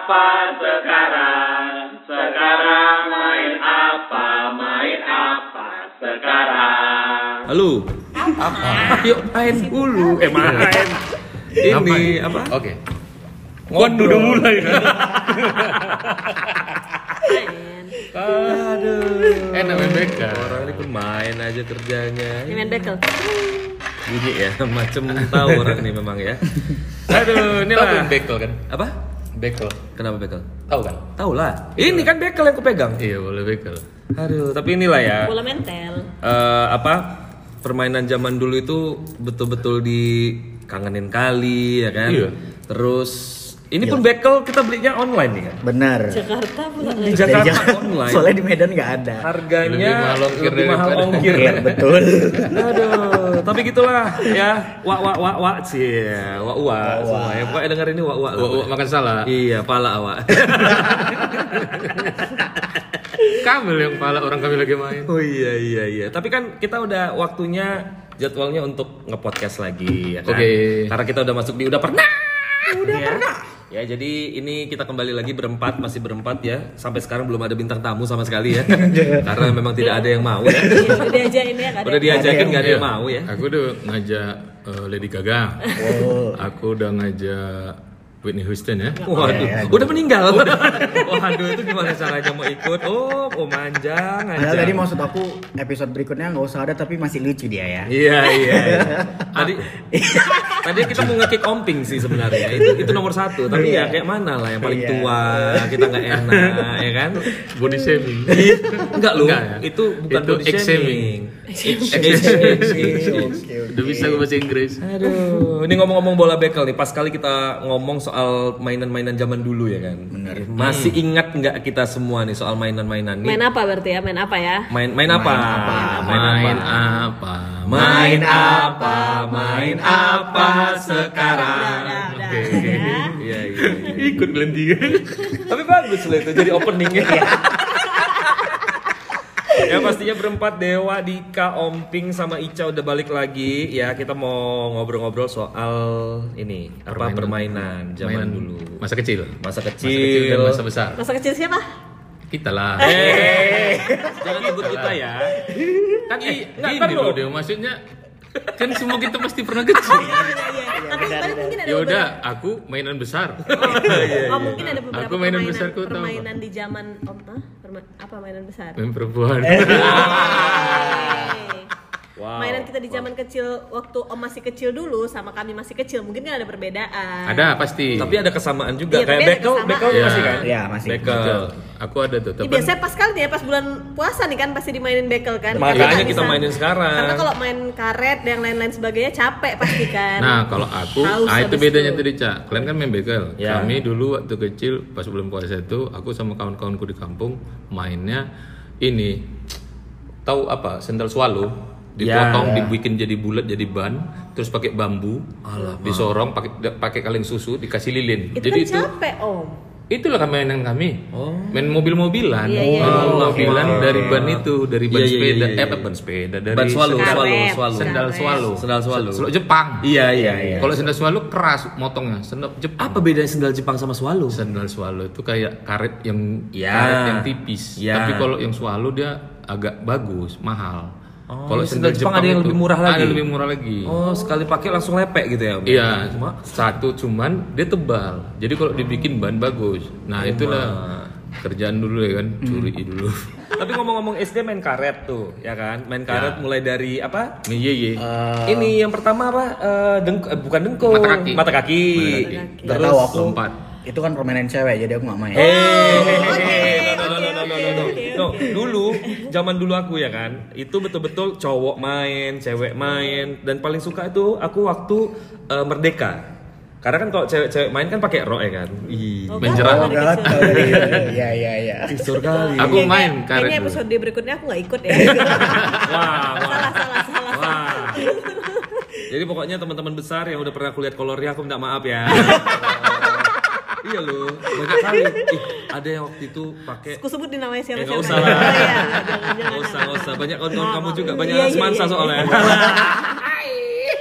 apa sekarang? Sekarang main apa? Main apa sekarang? Halo. Apa? Yuk main dulu. Main. Ini apa? Oke. Ngobrol udah mulai kan. Aduh. Enak main bekel. Orang ini pun main aja kerjanya. Ini main bekel. Bunyi ya, macem tahu orang ini memang ya. Aduh, ini Tahu lah. bekel kan? Apa? Bekel. Kenapa bekel? Tahu kan? Tahu lah. Ini kan bekel yang kupegang. Iya, boleh bekel. Aduh, tapi inilah ya. Bola mentel. Permainan zaman dulu itu betul-betul dikangenin kali ya kan. Iya. Terus ini pun bekel kita belinya online nih kan. Benar. Jakarta pula. Di Jakarta online. Soalnya di Medan nggak ada. Harganya Lebih mahal ongkir Iya, betul. Aduh, tapi gitulah ya. Wa sih. Wa semua ya. Pokoknya denger ini wa. Makan salah. Iya, pala awak. Kamil yang pala orang kami lagi main. Oh iya. Tapi kan kita udah waktunya jadwalnya untuk nge-podcast lagi ya kan. Oke. Karena kita udah masuk di udah pernah. Ya, jadi ini kita kembali lagi masih berempat ya. Sampai sekarang belum ada bintang tamu sama sekali ya. Karena memang tidak ada yang mau ya. Iya, udah diajakin ya kan. Udah diajakin nggak ada yang mau ya. Aku udah ngajak Lady Gaga. Oh. Aku udah ngajak Whitney Houston ya. Waduh, udah meninggal. Waduh, itu gimana caranya mau ikut? Oh manjang aja. Padahal tadi maksud aku episode berikutnya nggak usah ada tapi masih lucu dia ya. Iya. Tadi kita mau nge-kick Omping sih sebenarnya. Itu nomor 1. Tapi ya kayak mana lah yang paling tua, kita nggak enak ya kan? Body shaming. Enggak loh. Enggak ya? Itu bukan Itu body X-shaming. shaming. Udah bisa gue bahasa Inggris. Aduh, ini ngomong-ngomong bola bekel nih. Pas kali kita ngomong soal mainan-mainan zaman dulu ya kan. Bener. Masih ingat nggak kita semua nih soal mainan-mainan nih? Main apa berarti ya? Main apa ya? Main apa? Main apa sekarang? Udah. Iya. Ikut Belendia. Tapi bagus loh itu jadi openingnya. Ya pastinya berempat Dewa, Dika, Omping sama Ica udah balik lagi ya. Kita mau ngobrol-ngobrol soal ini permainan zaman dulu. Masa kecil Masa dan masa besar. Masa kecil siapa? Kita lah. Jangan sebut kita ya. Kan Gini loh dia maksudnya kan semua kita pasti pernah kecil. Tapi mungkin ada Ya udah, aku mainan besar. mungkin ada beberapa Aku mainan besarku tahu. permainan di zaman apa mainan besar? Main perempuan. Wow. Mainan kita di zaman kecil waktu Om masih kecil dulu sama kami masih kecil mungkin kan ada perbedaan. Ada pasti. Tapi ada kesamaan juga Iya, kayak tapi ada bekel kesamaan. masih kan? Iya, masih. Bekel. Aku ada tuh. Ya, biasanya pas kali ya pas bulan puasa nih kan pasti dimainin bekel kan. Makanya Karena kita bisa- mainin sekarang. Karena kalau main karet dan lain-lain sebagainya capek pasti kan. Nah, kalau aku, Haus itu habis bedanya itu. tadi, Cak. Kalian kan main bekel. Ya. Kami dulu waktu kecil pas bulan puasa itu, aku sama kawan-kawanku di kampung mainnya ini. Tahu apa? Sendal swallow. Dipotong, dibikin jadi bulat, jadi ban, terus pakai bambu, disorong, pakai kaleng susu, dikasih lilin. Itu jadi kan capek Om. itulah mainan kami. Main mobil-mobilan, Iya. mobil-mobilan dari ban itu, dari ban Iya, sepeda, iya. ban sepeda, dari Ban swallow. sendal swallow. Sendal swallow. Sendal Jepang. Iya. Kalau sendal swallow keras motongnya. Sendal Jepang. Apa bedanya sendal Jepang sama swallow? Sendal swallow itu kayak karet yang Ya. karet yang tipis. Ya. Tapi kalau yang swallow dia agak bagus, mahal. Kalau sendal Jepang ada yang itu lebih murah lagi? Ada lebih murah lagi. Oh, sekali pakai langsung lepek gitu ya? Om? Iya, Cuma satu cuman dia tebal. Jadi kalau dibikin ban bagus. Nah, itulah kerjaan dulu ya kan, curi dulu. tapi ngomong-ngomong SD main karet tuh, ya kan? Main karet mulai dari apa? Iya. Ini yang pertama apa? Bukan dengkul. Mata kaki. Nggak Terus tahu aku. lompat. Itu kan permainan cewek jadi aku nggak main. No, dulu zaman dulu aku ya kan, itu betul-betul cowok main, cewek main, dan paling suka itu aku waktu Merdeka. Karena kan kalau cewek-cewek main kan pakai rok ya kan. Main jerah. Iya. Tisur kali. Aku main karet Kayaknya dulu. episode berikutnya aku nggak ikut ya. Wah. salah. Jadi pokoknya teman-teman besar yang udah pernah kulihat kolornya aku minta maaf ya. Iya loh, banyak kali. Ada yang waktu itu pakai. Aku sebutin namanya siapa? Nggak usah lah. Nggak usah. Banyak kawan-kawan kamu juga, banyak semansa soalnya.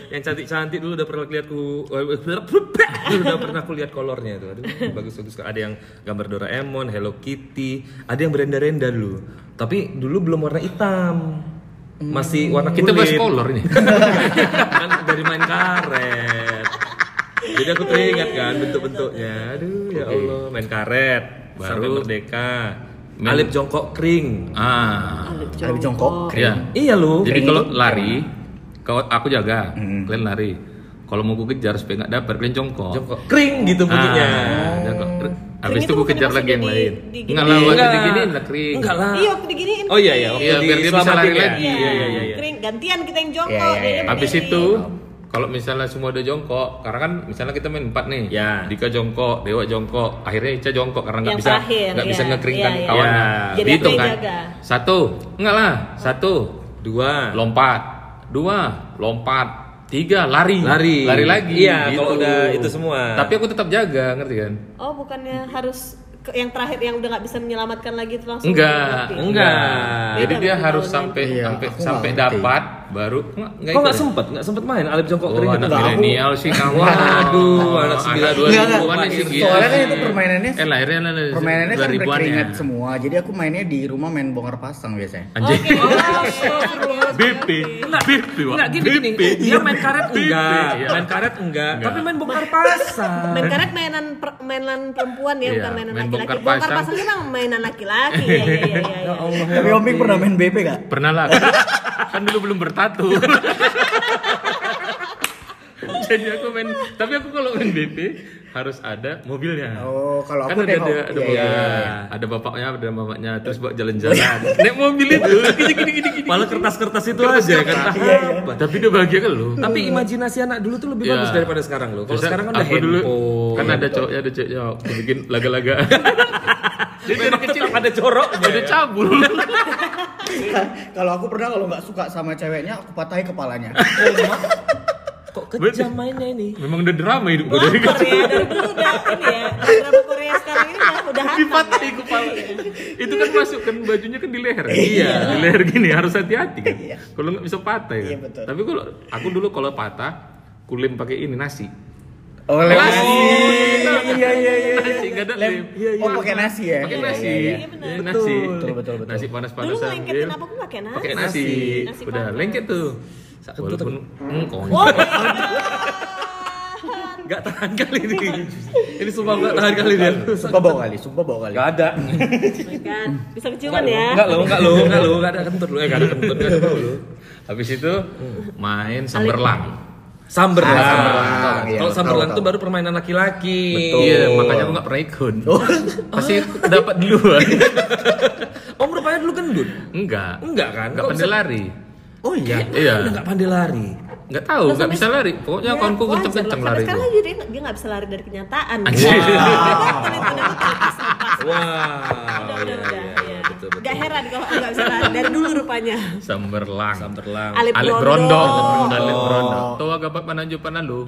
yang cantik-cantik dulu udah pernah lihat udah pernah aku lihat kolornya itu. Aduh, bagus-bagus. Ada yang gambar Doraemon, Hello Kitty, ada yang berenda-renda dulu. Tapi dulu belum warna hitam. Masih warna kulit. Kita bahas kolor nih. Kan dari main karet. Jadi aku teringat kan bentuk-bentuknya. Aduh, ya Allah, main karet, sampai Baru Merdeka. Alip jongkok kering. Alip jongkok. Ya. Iya lu. Jadi kalau lari, aku jaga, kalian lari. Kalau mau gue kejar supaya nggak dapat, kalian jongkok. Jongkok kering gitu bunyinya. Jongkok. Habis Kering itu itu gue bukan kejar pas lagi udah yang lain. diginiin. Enggak lah, waktu Enggak. diginiin lah kering. Enggak lah. Iya, waktu diginiin. Oh iya ya, Iya, biar dia bisa lari lagi. Iya. Kering, gantian kita yang jongkok. Iya, iya, dia iya. Habis berdiri. itu kalau misalnya semua udah jongkok, karena kan misalnya kita main 4 nih, Ya. Dika jongkok, Dewa jongkok, akhirnya Ica jongkok karena nggak Yang bisa terakhir, bisa iya. ngekeringkan Iya, iya. kawannya. Ya. Jadi Dihitung aku kan, yang jaga. 1, enggak lah, 1, 2 lompat, 2, lompat, 3, lari lagi. Iya, gitu. kalau udah itu semua. Tapi aku tetap jaga, ngerti kan? Oh, bukannya harus yang terakhir yang udah nggak bisa menyelamatkan lagi itu langsung Enggak, mati? enggak. Jadi Beda dia berarti harus kalau sampai Iya, sampai aku sampai nggak ngerti. dapat baru Kok nggak ikut ya? sempet main Alip jongkok Oh, kering anak itu? milenial sih kamu. Waduh, anak 90-an an sih gitu. Soalnya kan itu permainannya lahirnya permainannya kan 2000-an berkeringat ya. semua. Jadi aku mainnya di rumah main bongkar pasang biasanya. Anjing. BP. Enggak gini. Dia main karet enggak, Iya. main karet enggak, Enggak. tapi main bongkar pasang. Main karet mainan perempuan ya, Iya, bukan mainan main laki-laki. bongkar Bongkar pasang. pasang itu memang mainan laki-laki. Iya. Tapi Om Ping pernah main BP gak? Pernah lah. Kan dulu belum bertatu. Jadi aku main, tapi aku kalau main BP harus ada mobilnya. Oh, kalau Kan aku ada tengok. ada Iya, mobil, iya. ada bapaknya, ada mamanya, terus bawa jalan-jalan. Naik mobil itu, gini. Malah kertas-kertas itu aja kan. Tapi dia bahagia kan lo. Tapi imajinasi anak dulu tuh lebih Iya. bagus daripada sekarang loh. Kalau Terus sekarang kan udah aku dulu handphone. kan ada cowoknya, aku bikin laga-laga. Jadi dari kecil ada corok. ada cabul. Kalau aku pernah kalau nggak suka sama ceweknya, aku patahin kepalanya. Kok kejam mainnya ini? Memang udah drama hidup gue Wah, dari kecil. Korea dari dulu udah ini ya. Drama Korea sekarang ini udah hantam. Dipatahin kepala. Itu kan masuk kan bajunya kan di leher. Iya. Di leher gini harus hati-hati kan. Iya. Kalau nggak bisa patah ya. Iya, betul. Tapi kalau aku dulu kalau patah kulim pakai ini nasi. Oh, lem Nasi. nasi. Iya. Nasi nggak ada Lem. lem. Oh, pakai nasi ya? Pakai Iya, nasi. iya, iya. benar. Iya, nasi. Betul. Nasi Dulu panas-panasan. ngelengketin Iya. apapun pakai nasi. Pakai nasi. Nasi Udah panas. lengket tuh. Kentut Walaupun Oh, Enggak tahan kali ini. Ini sumpah enggak tahan kali dia. Sumpah bawa kali. Enggak ada. kan bisa keciuman ya. Enggak ada kentut lu. Enggak ada kentut, enggak ada bau lu. Habis itu main samberlang. Samberlang. Samberlang, iya, Kalau samberlang tahu. tuh baru permainan laki-laki. Betul. Iya, makanya aku nggak pernah ikut. Pasti dapat duluan. Om rupanya dulu gendut. Enggak. Enggak kan? Enggak Kok pandai bisa- lari. Oh iya. Iya. Udah enggak pandai lari. Enggak tahu, enggak bisa lari. Pokoknya kawanku Wajar kenceng-kenceng lah. lari Sekarang itu. jadi dia nggak bisa lari dari kenyataan. Anjir. Wah. Udah. Iya, betul. Gak heran kalau nggak bisa lari dari dulu rupanya. Samberlang. Samberlang. Alip Alip Brondong. Brondong. Alip Brondong. Tuh agak pananju panalu.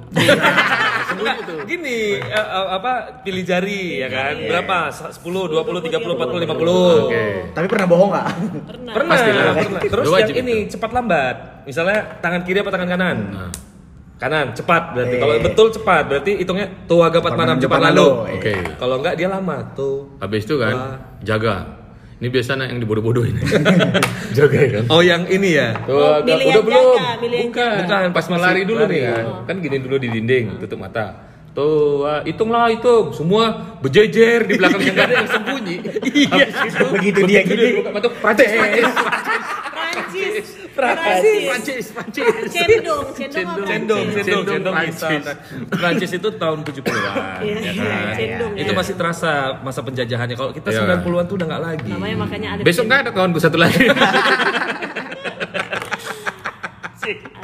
Gini, pilih jari ya kan? Berapa? 10, 20, 30, 40, 50. Oke. Tapi pernah bohong nggak? Pernah. Pastilah. Terus Udah yang wajib ini itu. cepat lambat. Misalnya tangan kiri apa tangan kanan? Nah. Kanan, cepat berarti. Kalau betul cepat berarti hitungnya tuh agak cepat manam cepat lalu. Oke. Kalau enggak dia lama tuh. Habis itu kan Wah. jaga. Ini biasanya yang dibodoh-bodohin. Jaga ya kan. Oh yang ini ya. Tuh, milih udah yang belum? jaga, milih yang Bukan, pas mau lari dulu lari. nih kan. Kan gini dulu di dinding, tutup mata. Tuh, hitung. Semua berjejer di belakang yang gak ada yang sembunyi. Iya. Begitu dia gini. buka mata, Prancis. Prancis. Cendong Prancis. Prancis itu tahun 70-an Iya, ya kan. cendong Itu ya. masih terasa masa penjajahannya. Kalau kita Iya. 90-an tuh udah enggak lagi. Namanya makanya ada. Besok nggak ada kawanku satu lagi.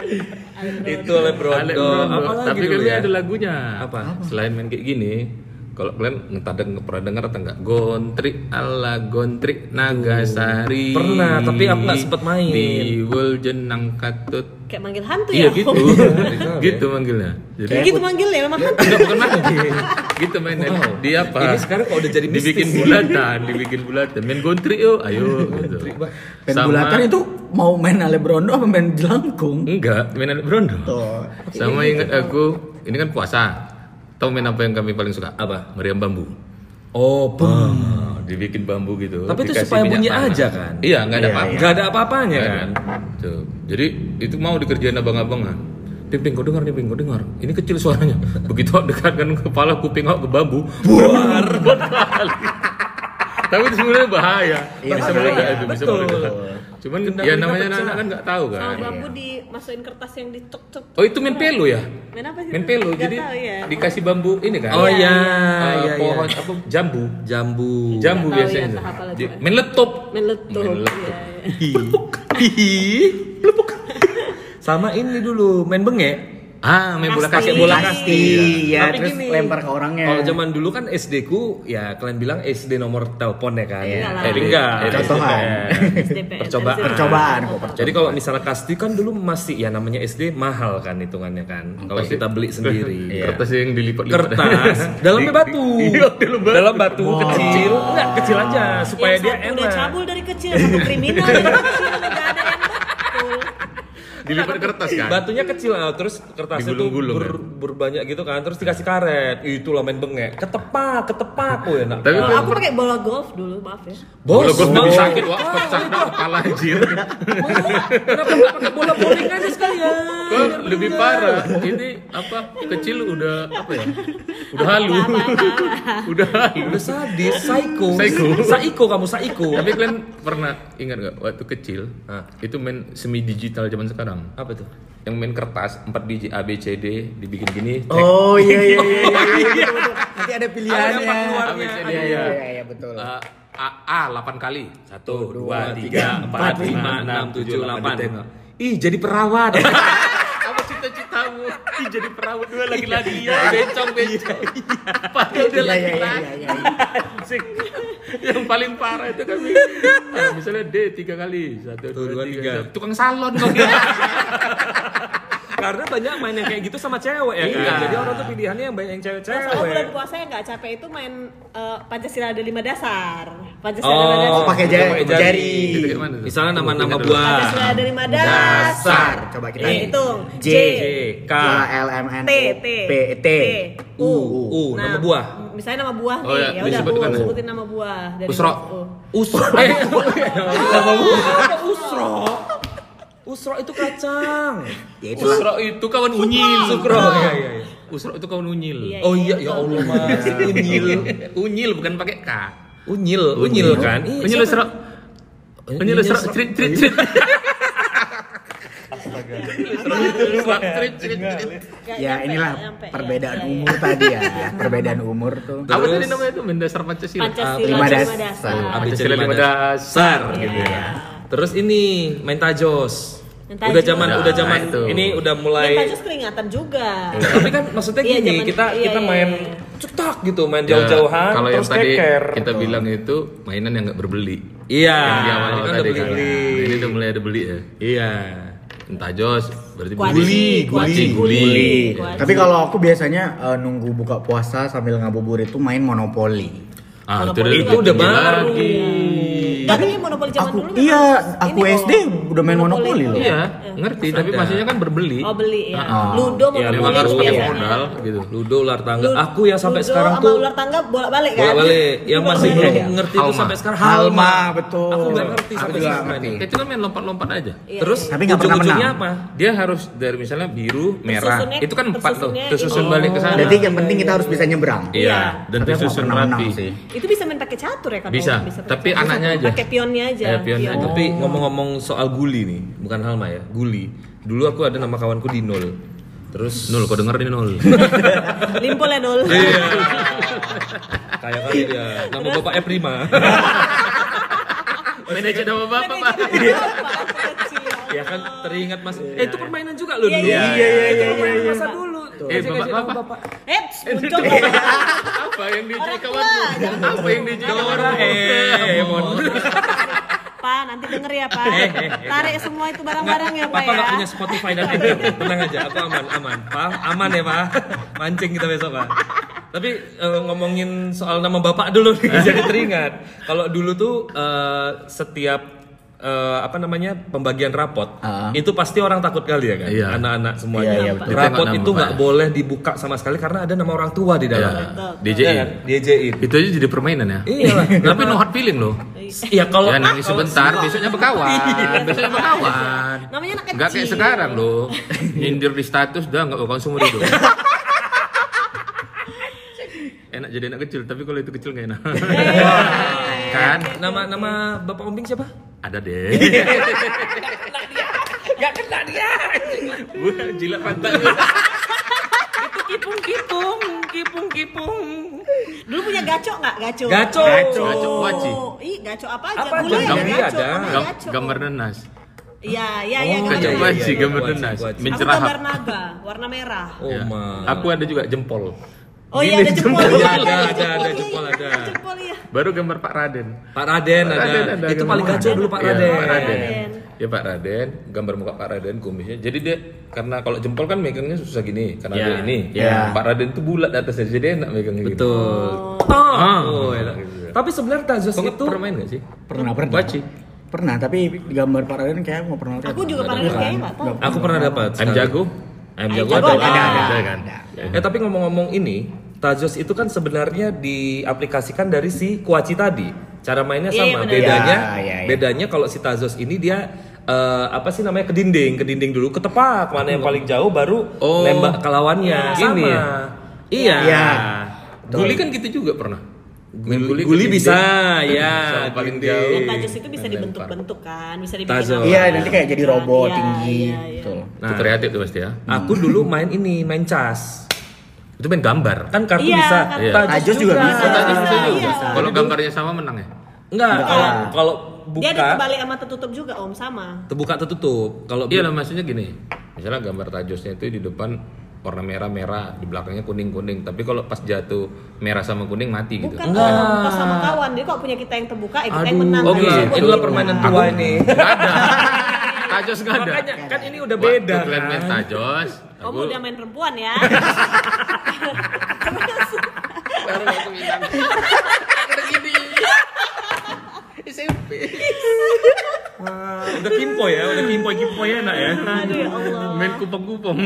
Itu oleh Brondong. Apa lagi Tapi dulu kami ya? ada lagunya. Apa? Selain main kayak gini, Kalau kalian pernah dengar atau enggak? Gontrik ala Gontrik Nagasari. Pernah, tapi aku nggak sempet main. Di Jenang Katut. Kayak manggil hantu Iya ya? gitu. Gitu manggilnya. Jadi Kayak gitu manggilnya memang hantu. enggak bukan manggil. Gitu mainnya. Di apa? Ini sekarang kalau udah jadi mistis. dibikin bulatan. Main Gontrik yuk, ayo gitu. Pen bulatan itu mau main alebrondo apa main jelangkung? Enggak, main anak brondo. Tuh. Sama ingat aku, ini kan puasa. Tahu main apa yang kami paling suka? Apa? Meriam bambu. Oh, Dibikin bambu gitu. Tapi itu dikasih supaya minyak bunyi panas. aja kan? Iya, nggak ada apa-apa. Nggak ada apa-apanya Nggak kan? ada. Tuh. Jadi itu mau dikerjain abang-abangan. Ping, kau dengar nih, Ping, kau dengar. Ini kecil suaranya. Begitu aku dekatkan kepala kuping aku ke bambu, buar kali. Tapi itu sebenarnya bahaya. Bisa meledak itu, bisa Betul. meledak. Cuman ya namanya anak kan nggak tahu kan. Sama bambu dimasukin kertas yang dituk-tuk. Oh itu main pelo ya? Main apa sih? Main itu? pelo, Nggak jadi tahu ya. dikasih bambu ini kan? Oh iya, Pohon apa? Jambu. Jambu. Jambu Nggak tahu biasanya. ya, entah apa lagi. Main laptop. Main letup. Main letup. Plepuk. Sama ini dulu main bengek. Main bola Kasti. kaki, bola kasti. Iya, Tapi terus gini, lempar ke orangnya. Kalau zaman dulu kan SD ku ya kalian bilang SD nomor telepon ya kan? Iya. Enggak. Contohan. SDPN. Percobaan. Percobaan kok. Jadi kalau misalnya kasti kan dulu masih ya namanya SD mahal kan hitungannya kan. Kalau Pasti. kita beli sendiri. Kertas yang dilipat-lipat. Kertas dalamnya batu. Iya, dalam batu. Kecil. Enggak kecil aja supaya Yang dia satu udah enak. cabul dari kecil, satu kriminal dari kecil, nggak ada yang betul. Dilipat kertas kan? Batunya kecil, terus kertasnya tuh Digulung-gulung, berbanyak gitu kan, terus dikasih karet. Itulah main bengek. Ketepak, oh enak. Tapi Kalau aku pakai bola golf dulu, maaf ya. bola Bos, gua mau. lebih sakit, wah pecah kepala anjir. Kenapa nggak pakai bola bowling aja sekalian? Kok lebih parah. Ini apa? Kecil udah apa ya? Udah halu. Udah halu. Udah sadis, psycho. Psycho. Kamu psycho. Tapi kalian pernah ingat gak waktu kecil? Itu main semi digital zaman sekarang. Apa tuh? Yang main kertas 4 biji A B C D dibikin gini. Oh iya. Betul. Nanti ada pilihannya. Ada keluarnya. Iya, betul. A 8 kali. 1 2 3 4 5 6 7 8. Ih, jadi perawat. Apa cita-citamu? Ih, jadi perawat dua lagi-lagi ya. Bencong. Padahal dia lagi-lagi. Asik. Yang paling parah itu kami. Misalnya D 3 kali. 1 2 3. Tukang salon kok. Karena banyak main yang kayak gitu sama cewek ya kan. Iya. Jadi orang tuh pilihannya yang banyak yang Kalau cewek-cewek. bulan puasa yang nggak capek itu main Pancasila ada 5 dasar. Pancasila ada 5 dasar. Oh, pakai jari. Itu kayak mana tuh? Misalnya nama-nama Ingat dulu. buah. Pancasila ada 5 dasar. Coba kita Hitung. J, K, L, M, N, T, P, T, U. nama buah. Misalnya nama buah Oh, nih. ya, Ya udah disebutkan. sebutin nama buah dari Usro. huruf U. Usro. Nama buah apa usro? Usro itu kacang. Ya itu Usro itu kawan unyil. Sukro. Iya. Usro itu kawan unyil. Iya. Oh iya, ya Allah mas. Unyil. Unyil bukan pakai K. Unyil kan? Ih, Unyil siapa? Usro. Unyil Usro. Trit. ya inilah Nyampe, perbedaan ya. umur tadi ya. Perbedaan umur tuh. Apa tadi namanya itu? Mendasar Pancasila. Pancasila 5 ada 5 dasar. dasar. Pancasila 5 dasar gitu ya. Terus ini main tajos. Main Udah tajos. zaman Nah, itu. ini udah Main mulai. tajos keringatan juga. Tapi kan maksudnya Iya, gini, zaman- kita iya, main iya. cetak gitu, main Ya, jauh-jauhan kalau yang terus tadi keker. kita bilang itu mainan yang nggak berbeli. Iya, Yang di awal ini kan tadi udah kan. beli-beli. Nah, ini udah mulai ada beli ya. Iya. Entah jos, berarti Kuaci, guli. Kuaci. Tapi kalau aku biasanya nunggu buka puasa sambil ngabuburit itu main monopoli. Monopoli Itu udah tinggi baru. lagi. Tapi monopoli zaman Aku dulu iya, memang aku ini kok, SD udah main monopoli loh. Iya, ngerti. Tapi Ada. maksudnya kan berbeli. Oh beli ya. Ah. Ludo Iya, Memang monopoli harus pakai biasanya. modal gitu. Ludo, ular tangga. Ludo- Aku yang sampai Ludo sekarang sama tuh ular tangga bolak-balik kan? bolak-balik. Yang masih belum Iya. ngerti itu Halma. sampai sekarang Halma, betul. Aku nggak ngerti Aku sampai juga sekarang ngerti. ini. Itu kan main lompat-lompat aja. Iya, Terus Tapi nggak pernah ujung-ujungnya menang. apa? Dia harus dari misalnya biru, merah. Tersusunnya- Itu kan 4 tuh. tersusunnya Tersusun ini. balik ke sana. Berarti yang penting kita harus bisa nyebrang. Iya, dan Tapi aku nggak tersusun pernah menang rapi. sih. Itu bisa main pakai catur ya kan? Bisa, pakai tapi catur. anaknya aja. Pakai pionnya aja. Pionnya aja. Tapi ngomong-ngomong soal guli nih, bukan Halma ya, guli. Dulu aku ada nama kawanku Dinol. Terus Nul, kau denger ini Nul. Limpol ya Dol. Iya. Kayak kali dia. Nama bapaknya Prima. Main aja nama bapak, Pak. Ya kan teringat Mas. Itu permainan juga loh dulu. Iya, Itu permainan masa dulu. Bapak apa? Bapak. Muncul. Apa yang diajak kawanmu? Apa yang diajak Doraemon. Pak, nanti denger ya Pak. Tarik semua itu barang-barang ya Pak Papa ya. nggak punya Spotify dan Apple. Tenang aja, aku aman. Pak, aman ya Pak. Mancing kita besok Pak. Tapi ngomongin soal nama bapak dulu nih, jadi teringat. Kalau dulu tuh setiap pembagian rapot itu pasti orang takut kali ya kan, Iya. anak-anak semuanya. Iya, betul. Rapot Ditengok nama itu nggak bapaknya. boleh dibuka sama sekali karena ada nama orang tua di dalam. DJI. DJI. Itu aja jadi permainan ya. Iyalah. Tapi no hard feeling loh. Iya kalau Ya nangis sebentar, besoknya berkawan. Besoknya berkawan. Namanya anak kecil. Enggak kayak sekarang loh. Nyindir di status udah enggak bakal seumur hidup. Enak jadi anak kecil, tapi kalau itu kecil enggak enak. Kan? nama bapak Omping siapa? Ada deh. Gak kena dia. Jilat pantat. Itu kipung. Dulu punya gaco nggak? Gaco. Gaco. Gaco waci. Ih, gaco apa aja? Apa Dulu aja? ya Gambar gaco. ada. Namanya gaco. Gambar nanas. Iya, Oh, Gaco iya, waci, iya, gambar waci, nanas. waci. Aku Mencerahap. gambar naga, warna merah. Oh Ya. ma. Aku ada juga jempol. Oh iya, ada jempol. Ada, Iya, ada, iya, jempol iya, ada. Jempol iya. Baru gambar Pak Raden. Pak Raden ada. Raden Itu gambar paling gaco dulu Pak Iya, Raden. Pak Raden. Raden. Ya Pak Raden, gambar muka Pak Raden kumisnya. Jadi dia karena kalau jempol kan megangnya susah gini, karena Iya. ada ini. Iya. Pak Raden tuh bulat atasnya, jadi enak megangnya gitu. Betul. Oh, enak. Tapi sebenarnya Tazos Kau itu pernah main gak sih? Pernah. Waci. Pernah, tapi gambar Pak Raden kayak mau pernah lihat. Aku juga pernah lihat kayaknya nggak tahu. aku pernah dapat. Ayam jago? Ayam Ayam jago jago ada. ada. kan? Tapi ngomong-ngomong ini, Tazos itu kan sebenarnya diaplikasikan dari si Kuaci tadi. Cara mainnya Iya, sama. benar. Bedanya, Iya. bedanya kalau si Tazos ini dia apa sih namanya ke dinding dulu, ke tepak mana yang paling jauh baru Oh. nembak ke lawannya. Gini Sama. ya? Iya. Iya. Guli kan gitu juga pernah. Main Guli ke dinding. bisa, ya. Sama paling dinding. jauh. Tajus itu bisa dibentuk-bentuk kan, bisa dibikin Tazos. apa. Iya, nanti kayak jadi robot Iya, tinggi. iya, iya. Betul. Itu kreatif tuh pasti ya. Aku dulu main cas. Itu main gambar. Kan kartu Iya, bisa. kartu. Iya. Tajos juga bisa. Oh, Tajos bisa Iya. juga. Kalau gambarnya sama menang ya? Enggak, kalau Dia buka dibalik sama tertutup juga Om, sama. terbuka tertutup. Kalau Iya lah, maksudnya gini. Misalnya gambar tajosnya itu di depan warna merah-merah, di belakangnya kuning-kuning. Tapi kalau pas jatuh merah sama kuning mati gitu. Bukan Om, pas sama kawan. Dia kok punya kita yang terbuka, kita yang menang. oh, Tajus gila. buat Inilah kita. permainan tua ini. Nggak ada. Tajos nggak ada. Makanya kan ini udah beda Waktu kalian main kan. tajos. Om udah main perempuan ya. Baru aku bilang. Udah gini. SMP. Udah kimpoy ya, udah kimpoy enak ya. Aduh ya Allah. Main kupong-kupong.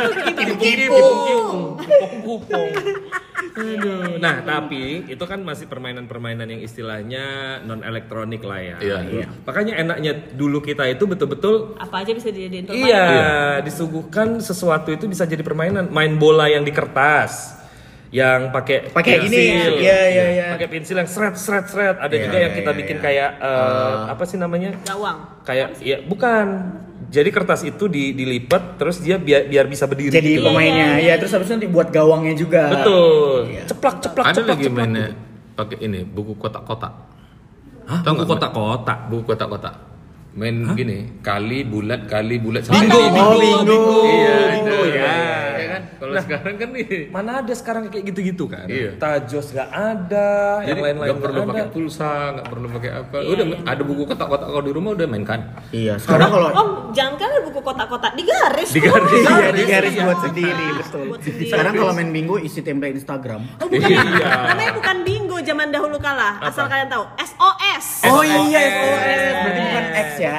Kupong. Aduh. Nah, tapi itu kan masih permainan-permainan yang istilahnya non elektronik lah ya. Iya. Makanya enaknya dulu kita itu betul-betul Apa aja bisa dijadiin permainan. iya, disuguhkan sesuatu itu bisa jadi permainan. Main bola yang di kertas. Yang pakai Pakai ini, pensil. iya. Pakai pensil yang seret. Ada Iya, juga yang iya, kita iya, bikin iya. kayak apa sih namanya? Gawang. Kayak ya bukan. Jadi kertas itu dilipat terus dia biar bisa berdiri. Jadi gitu. pemainnya. Ya, terus habis itu dibuat gawangnya juga. Betul. Ceplak. Ada lagi mainnya pakai ini buku kotak-kotak. Hah? Tahu Buku nggak? kotak-kotak. Buku kotak-kotak. Main gini, kali bulat Bingo. Iya, Bingo itu. ya. Iya kan? Kalau sekarang kan nih. Mana ada sekarang kayak gitu-gitu kan? Iya. Tajos nggak ada, yang Jadi lain-lain nggak perlu nggak pakai ada. pulsa, nggak perlu pakai apa. Udah ada buku kotak-kotak kalau di rumah udah mainkan. Iya, sekarang kalau Om, jangan kan ada buku kotak-kotak digaris. Digaris. Om. iya di garis buat sendiri, betul. Buat sendiri. Sekarang kalau main bingo isi template Instagram. Oh, bukan. Iya. Namanya bukan bingo zaman dahulu kala. Asal kalian tahu. SOS. Oh iya, SOS. Berarti bukan X ya.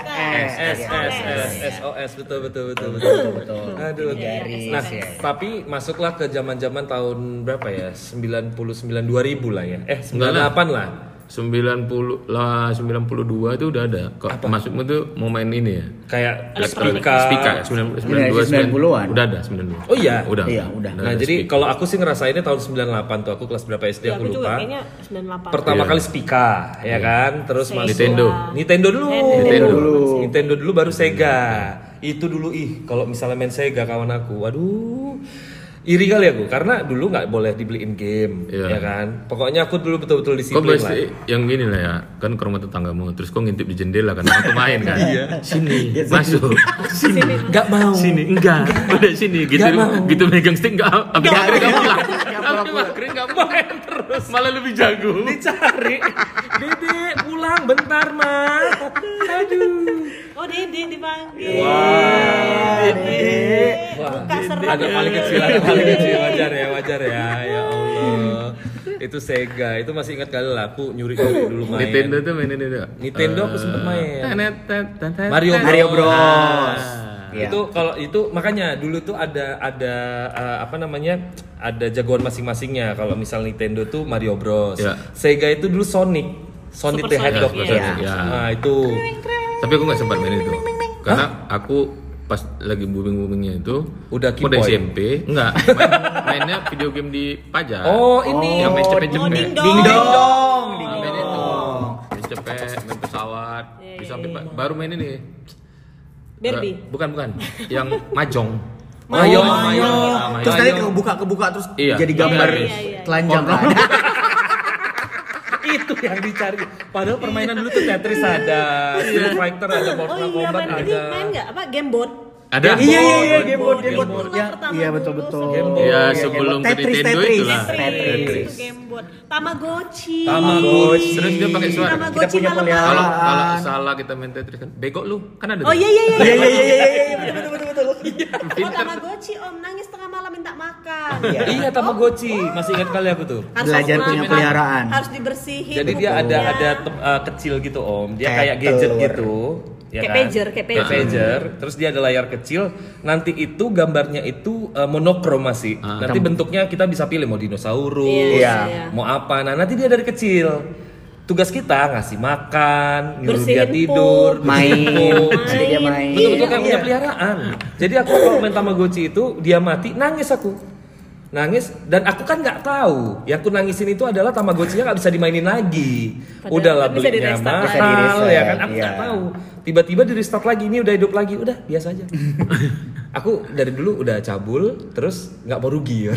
SOS betul. Betul. Aduh. Garis, Nah, ya. tapi masuklah ke zaman-zaman tahun berapa ya? 99 2000 lah ya. 98 lah. 90 lah 92 itu udah ada. Kok maksudmu tuh mau main ini ya? Kayak Elektronik. Spika. Spika ya? 92 90-an. Udah ada 92. Oh iya. Udah. Iya, udah. Nah, ada jadi Spika. kalau aku sih ngerasainnya tahun 98 tuh. Aku kelas berapa SD Ya, aku aku juga lupa. kayaknya 98. Pertama Iya. kali Spika, ya kan? Terus Sega. masuk Nintendo. dulu. Nintendo dulu baru Sega. Itu dulu kalau misalnya main Sega kawan aku. Waduh. iri kali aku karena dulu nggak boleh dibeliin game, Iya. ya kan. Pokoknya aku dulu betul-betul Kau disiplin lah. pasti yang gini lah ya, kan ke rumah tetanggamu, terus kau ngintip di jendela kan, aku main kan. Sini, masuk. Sini. Nggak mau. Sini, enggak. Udah sini, gitu, Nggak mau. gitu megang stick enggak. Habis maghrib enggak pulang. Habis maghrib enggak main terus. Malah lebih jago. Dicari, Dede pulang bentar mah. Aduh. Oh, Dede dipanggil. Dede. Buka seru. Agak paling kecil, wajar ya Allah. Itu Sega, itu masih ingat kali lah. Aku nyuri-nyuri dulu main. Nintendo tuh mainin itu. Nintendo aku sempet main. Mario Mario Bros. Iya. Itu kalau itu makanya dulu tuh ada apa namanya? Ada jagoan masing-masingnya. Kalau misal Nintendo tuh Mario Bros. Ya. Sega itu dulu Sonic Super the Sonic, Hedgehog. iya. Ya. Nah, itu. Tapi aku nggak sempat main itu. Karena aku pas lagi boomingnya itu Udah aku udah Kipoy? SMP, enggak. Mainnya video game di Pajar. Oh, ini. yang main cepet-cepet. Oh, ding dong. Ding dong. Main itu. Main cepet, main pesawat. Bisa sampai baru main ini. Barbie. Bukan. Yang Mahjong. Mahjong. Nah, Terus Mahjong. tadi kebuka terus Iya. jadi gambar Iya. telanjang kan. Itu yang dicari. Padahal permainan dulu tuh Tetris ada, Street Fighter ada, Mortal Oh iya, Kombat main ini ada. main nggak? Apa game board? Ada. Iya, game board. Itulah pertama Iya, dulu betul. sebelum Game board. Ya Iya, sebelum ke Tetris, Nintendo Tetris. itulah. Tetris. Itu game board. Tamagotchi. Tamagotchi. Terus dia pakai suara. Tamagotchi Kita punya malam-malam. peliharaan. Kalau salah kita main Tetris kan, bego lu. Kan ada. Oh tuh. iya. Iya, betul. Oh Tamagotchi om nangis tengah malam minta makan. Iya, Tamagotchi. Masih ingat kali aku tuh. Harus Belajar aku punya makan, peliharaan. Harus dibersihin. Jadi dia pokoknya. ada kecil gitu Om. Dia Kayak kayak gadget telur. gitu. Ya Kayak kan? pager, kayak pager. Terus dia ada layar kecil. Nanti itu gambarnya itu monokrom masih. Nanti bentuknya kita bisa pilih mau dinosaurus, Iya. mau apa. Nah nanti dia dari kecil. Tugas kita ngasih makan, nyuruh dia Bersihin tidur, pun. bersihin pun. Nanti dia main. Betul-betul kayak punya Iya. peliharaan. Jadi aku kalau main Tamagotchi itu dia mati nangis aku. Nangis dan aku kan nggak tahu yang aku nangisin itu adalah Tamagotchinya nggak bisa dimainin lagi. Padahal Udahlah kan bisa belinya di-restart lagi. Bisa mahal di-reset, ya kan aku iya. nggak tahu. Tiba-tiba di restart lagi ini udah hidup lagi udah biasa aja. Aku dari dulu udah cabul terus nggak mau rugi ya.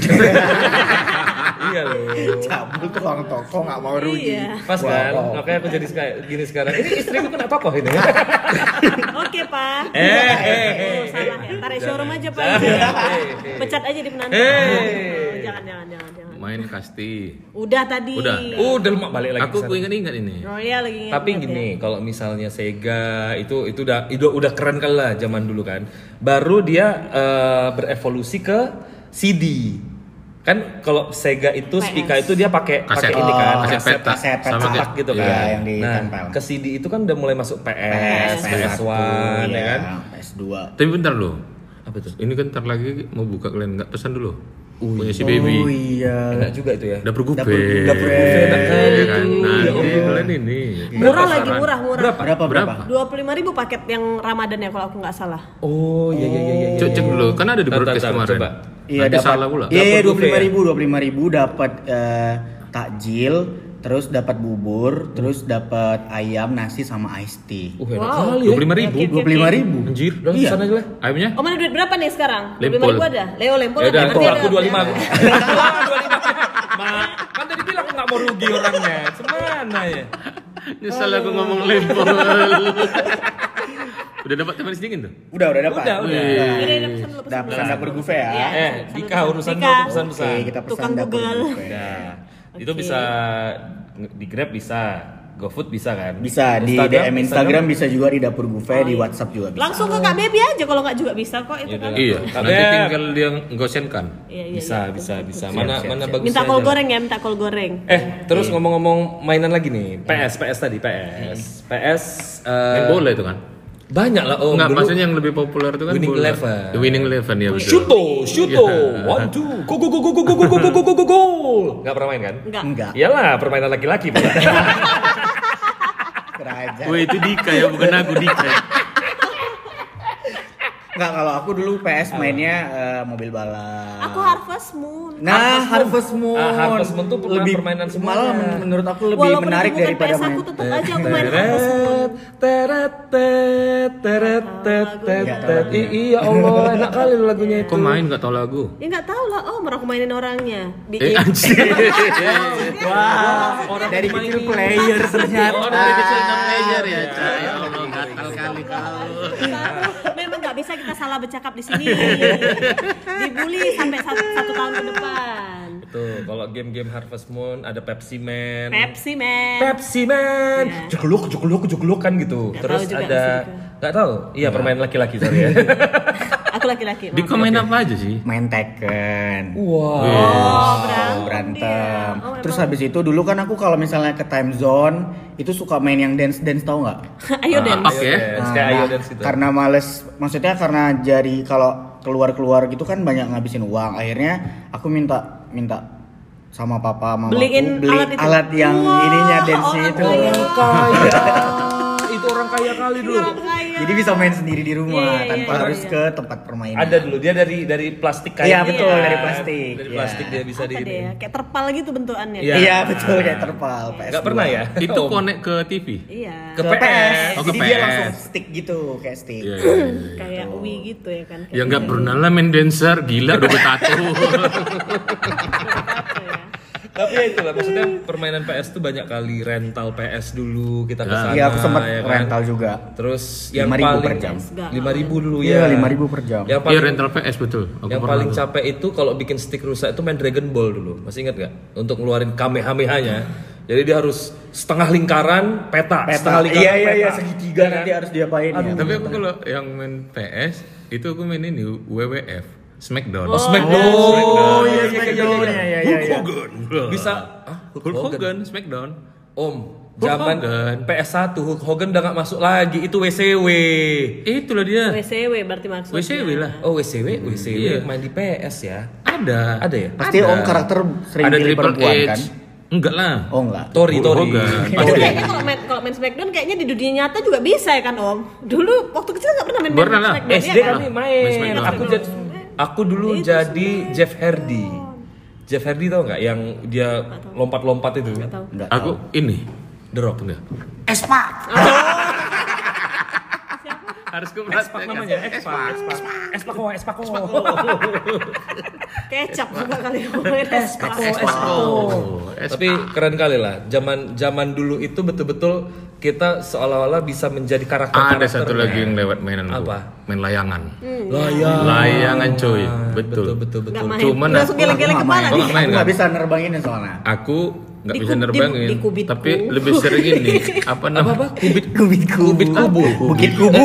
Iya loh. Cabul tuh orang toko nggak mau rugi. Iya. Pas kan, Wow. makanya aku jadi kayak gini sekarang. Ini istriku kena tokoh ini. Oke pak. Eh. Salah ya. Tarik showroom aja pak. Jangan. Pecat aja di penanti. Eh. Jangan. Main kasti. Udah tadi. Udah lemak balik lagi. Aku ke sana. ingat ini. Oh iya lagi ingat. Tapi gini, kalau misalnya Sega itu udah keren kali lah zaman dulu kan. Baru dia berevolusi ke CD. Kan kalau Sega itu PS. Spica itu dia pakai Kaset. ini kan, Kaset peta. Kaset Sama peta. cetak gitu kan. Iya, yang nah, ditempel. ke CD itu kan udah mulai masuk PS, PS1 ya kan. PS2. Tapi bentar loh. Apa tuh? Ini kan ntar lagi mau buka kalian nggak pesan dulu. Punya si Oh baby. iya. Enak juga itu ya. Dapur gupe. Dapur gupe, enak kali Ya kan. itu. Nah, Ya jadi Allah. kalian ini. Murah lagi Pasaran. murah. Berapa? 25.000 paket yang Ramadan ya kalau aku nggak salah. Oh iya. Cek dulu, kan ada di broadcast Tar, kemarin. coba. Iya, Nanti dapat. salah pula. Iya, Dapur buffet 25.000 dapat takjil, terus dapat bubur, terus dapat ayam, nasi sama iced tea. Enak Wow. kali ya. 25.000. 25.000. Anjir. Udah Iya. sana aja lah. Ayamnya? Om ada duit berapa nih sekarang? Lempol. 25.000 ada? Leo lempol Ya udah, ada? Nanti aku ada. 25 aku. 25. Kan tadi bilang aku nggak mau rugi orangnya. Semana ya? Nyesal aku ngomong lempol. Udah dapat teman sedingin tuh? Udah dapat. Udah. Udah pesan dulu. Udah pesan dapur buffet ya. Iya. Dika urusan Dika. dulu pesan-pesan. Oke, kita pesan Tukang dapur Google. buffet. Nah, itu Oke. bisa di Grab bisa, GoFood bisa kan? Bisa di DM Instagram bisa juga di dapur buffet, di WhatsApp juga bisa. Langsung ke Kak Baby aja kalau nggak juga bisa kok itu Ya kan. udah. Iya. Kak Nanti Beb. tinggal dia nggosenkan. Iya. Bisa. Mana bagus? Minta kol goreng ya, minta kol goreng. Terus ngomong-ngomong mainan lagi nih. PS tadi PS. Main bola itu kan? Banyak lah Om. Enggak, Dulu maksudnya yang lebih populer itu kan Winning bola. Eleven. The Winning Eleven ya betul. Shuto, Iya. 1, 2, go. Nggak pernah main kan? Enggak. Iyalah, permainan laki-laki pula. Kerajaan. Wah itu Dika ya, bukan aku Dika. Enggak, kalau aku dulu PS mainnya mobil balap. Aku Harvest Moon. Nah, Harvest Moon. Harvest Moon tuh lebih permainan semuanya. malah menurut aku lebih Walaupun menarik itu bukan daripada PS main. aku tetap aja aku main Harvest Moon. Iya Allah, enak kali lu lagunya itu. Kok main nggak tahu lagu? Ya nggak tahu lah, aku mainin orangnya. Anjir. Wah, Orang dari main kecil ini. player ternyata. Oh, dari kecil udah player ya, Cak. Ya Allah, gatal kali kau. Memang nggak bisa kita salah bercakap di sini. Dibully sampai satu tahun ke depan. Tuh, kalau game-game Harvest Moon ada Pepsi Man. Pepsi Man. Pepsi Man. Iya. Jegluk kan gitu. Nggak Terus tahu juga ada sih, nggak tahu. Iya, permainan laki-laki sorry ya. Aku laki-laki. Di komen apa aja sih? Main Tekken. Wow. Berantem. Oh, Terus habis itu dulu kan aku kalau misalnya ke time zone itu suka main yang dance tau nggak? Ayo dance. Oke. Kayak Ayo Dance gitu. Karena males, maksudnya karena jadi kalau keluar gitu kan banyak ngabisin uang. Akhirnya aku minta sama papa mamaku Beliin beli alat itu. alat yang Wah, ininya dance-nya orang itu. kaya. Itu orang kaya kali dulu. Orang kaya. Jadi bisa main sendiri di rumah Iya, tanpa iya, harus iya. ke tempat permainan. Ada dulu dia dari plastik kayak. Iya, betul, gitu. dari plastik. Dari Iya. plastik dia bisa Apa di deh ya? Kayak terpal gitu bentukannya. Iya. Iya betul kayak terpal PS2. Enggak pernah ya? Itu Om. connect ke TV. Iya. Ke PS. Oh, ke Jadi dia PS. langsung stick gitu kayak stick. Iya, iya, iya. Kayak Wii gitu ya kan. Ya nggak pernah lah main dancer, gila udah bertato. Tapi ya itulah maksudnya permainan PS tuh banyak kali rental PS dulu kita ke sana. Iya aku sempat ya kan? rental juga. Terus yang 5.000 paling per jam. 5.000 dulu Iya, ya. 5.000 per jam. Yang Iya paling rental PS betul. Aku yang pernah paling tuh. capek itu kalau bikin stick rusak itu main Dragon Ball dulu. Masih ingat gak? Untuk ngeluarin Kamehameha-nya. Jadi dia harus setengah lingkaran peta. Setengah lingkaran Iya peta. segitiga Iya nanti kan? harus diapain ya. Tapi aku kalau yang main PS itu aku main ini WWF Smackdown. Oh, Smackdown. Oh, iya, Smackdown. Smackdown. Iya, iya, Hulk iya. Hogan. Bisa Hulk Hogan Smackdown. Om, Hulk zaman Hogan. PS1 Hulk Hogan udah gak masuk lagi. Itu WCW. Itulah dia. WCW berarti maksudnya. WCW lah. Oh, WCW Iya. main di PS ya. Ada. Ada ya? Pasti Ada. om karakter sering Ada pilih Triple perempuan H. kan? Enggak lah. Oh enggak. Tori. Hulk Hogan. Tapi Pasti. kayaknya kalau main Smackdown kayaknya di dunia nyata juga bisa ya kan Om? Dulu waktu kecil nggak pernah main Pernah lah. Smackdown SD ya kan? kami Main main. Smackdown. Aku dulu jadi Jeff Hardy. Jeff Hardy tau nggak? Yang dia lompat-lompat itu. Tahu. Enggak. Aku ini. The Rock. Enggak. Espa. Harus ke X-Pac namanya. X-Pac kok. Kecap juga kali ngomongin Tapi keren kali lah. Zaman dulu itu betul-betul kita seolah-olah bisa menjadi karakter. Ada satu lagi yang lewat mainan aku. Apa? Main layangan. Layangan coy. Betul. Betul. Nggak main. Cuman Langsung aku geleng-geleng nggak kepala main. Kok nih. nggak main Aku kan? nggak bisa nerbangin soalnya. Aku nggak Di bisa nerbangin. di kubitku. Tapi lebih sering ini. Apa namanya? Kubit kubu. Bukit kubu.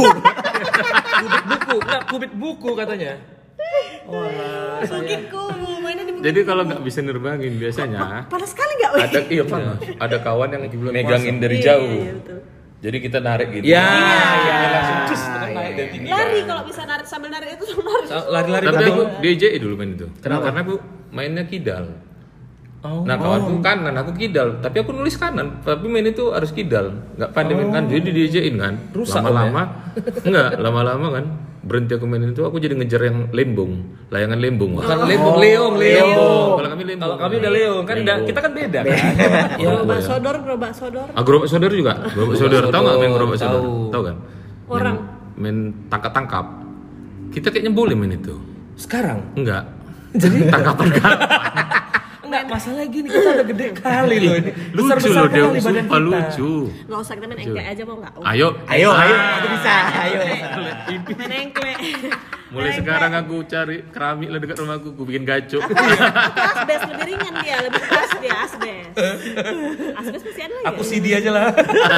Kubit buku katanya. Mungkin kubu mainnya di Jadi kalau nggak bisa nerbangin biasanya panas sekali nggak? Wih? ada iya panas. Ada kawan yang megangin dari Iya, jauh. iya, betul. Jadi kita narik gitu. Ya. Langsung cus naik dari tinggi. Lari kalau bisa narik sambil narik itu lari. Lari-lari Tapi betul. aku DJ dulu main itu. Karena aku mainnya kidal. Nah kawanku kanan, aku kidal. Tapi aku nulis kanan. Tapi main itu harus kidal. Nggak pandai main kanan. Jadi DJ-in kan. Rusak Lama-lama. Enggak, lama-lama kan. Berhenti aku main itu, aku jadi ngejar yang lembung. Layangan lembung. Bukan leong. Kalau kami lembung. Kalau kami udah leong kan kita kan beda kan. Gerobak sodor. Gerobak sodor juga. Gerobak sodor. Tahu nggak main gerobak sodor? Tahu. Tahu kan? Orang. Main tangkap-tangkap. Kita kayaknya boleh main itu. Sekarang Enggak. Jadi tangkapan kan. enggak masalah gini kita udah gede kali loh ini. Lucu loh dia, kali badan sumpah kita. lucu. Nggak usah kita main engklek aja mau nggak? Ayo, Ayo, aku bisa. Ayo. Main engklek. mulai sekarang aku cari keramik lah dekat rumahku, aku bikin gacok. Asbes lebih ringan dia, lebih pas dia asbes. Asbes masih ada lagi. Aku CD aja lah.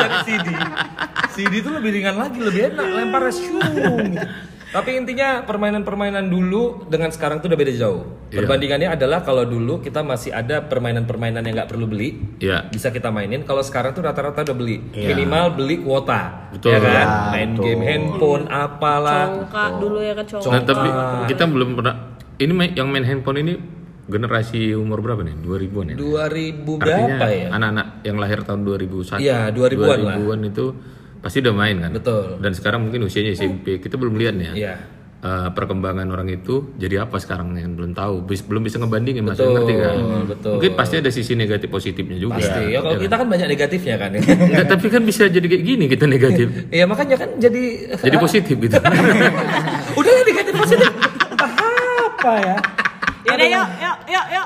CD itu lebih ringan lagi, lebih enak lempar shung. Tapi intinya permainan-permainan dulu dengan sekarang tuh udah beda jauh. Iya. Perbandingannya adalah kalau dulu kita masih ada permainan-permainan yang nggak perlu beli, Iya. bisa kita mainin. Kalau sekarang tuh rata-rata udah beli, Iya. minimal beli kuota, Betul. ya kan? Ya, Main betul. game handphone, apalah. Congkak dulu ya kan congkak. Nah, tapi kita belum pernah yang main handphone ini generasi umur berapa nih? 2000-an ya? 2000 Artinya berapa ya? anak-anak yang lahir tahun 2001. Iya, 2000-an lah. 2000-an itu pasti udah main kan? Betul. Dan sekarang mungkin usianya SMP, kita belum lihat nih ya. Iya. perkembangan orang itu jadi apa sekarang yang belum tahu, belum bisa ngebandingin, maksudnya ngerti kan? betul. Mungkin pasti ada sisi negatif positifnya juga. Pasti. Ya kalau kita kan banyak negatifnya kan. Enggak, tapi kan bisa jadi kayak gini kita negatif. Iya makanya kan jadi Positif gitu. udah ya negatif positif. Apa ya? Yaudah, yuk.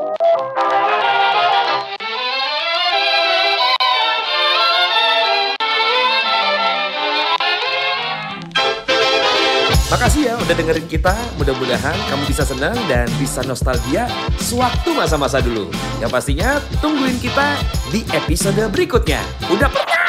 Makasih ya udah dengerin kita. Mudah-mudahan kamu bisa senang dan bisa nostalgia sewaktu masa-masa dulu. Yang pastinya tungguin kita di episode berikutnya. Udah pernah?